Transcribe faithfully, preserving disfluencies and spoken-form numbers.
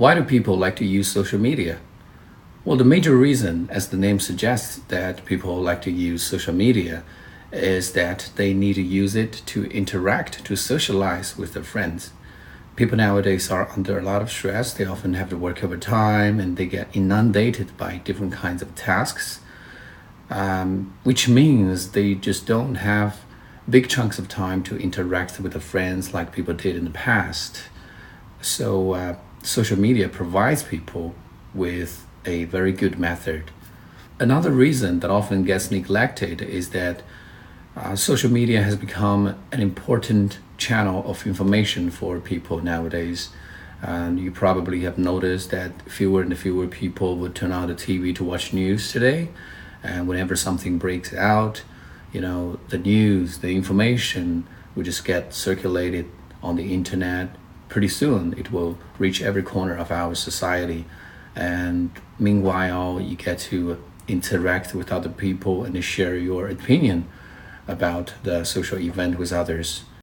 Why do people like to use social media? Well, the major reason, as the name suggests, that people like to use social media is that they need to use it to interact, to socialize with their friends. People nowadays are under a lot of stress. They often have to work overtime and they get inundated by different kinds of tasks, um, which means they just don't have big chunks of time to interact with their friends like people did in the past. So uh, social media provides people with a very good method. Another reason that often gets neglected is that uh, social media has become an important channel of information for people nowadays. And you probably have noticed that fewer and fewer people would turn on the T V to watch news today. And whenever something breaks out, you know, the news, the information will just get circulated on the internet. Pretty soon it will reach every corner of our society. And meanwhile, you get to interact with other people and share your opinion about the social event with others.